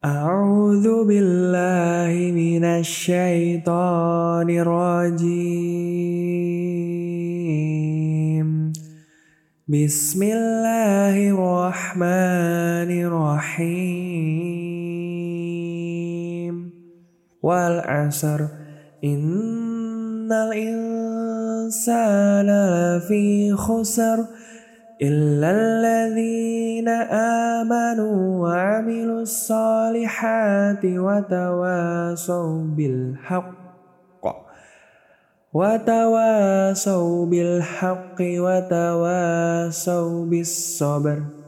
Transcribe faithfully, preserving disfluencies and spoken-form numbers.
A'udzu billahi minasy syaithanir rajim. Bismillahirrahmanirrahim. Wal 'asr innal insana lafi khusr illal ladzina amanu wa 'amilus solihati wa tawasaw bil haqq wa tawasaw bil haqqi wa tawasaw bis sabr.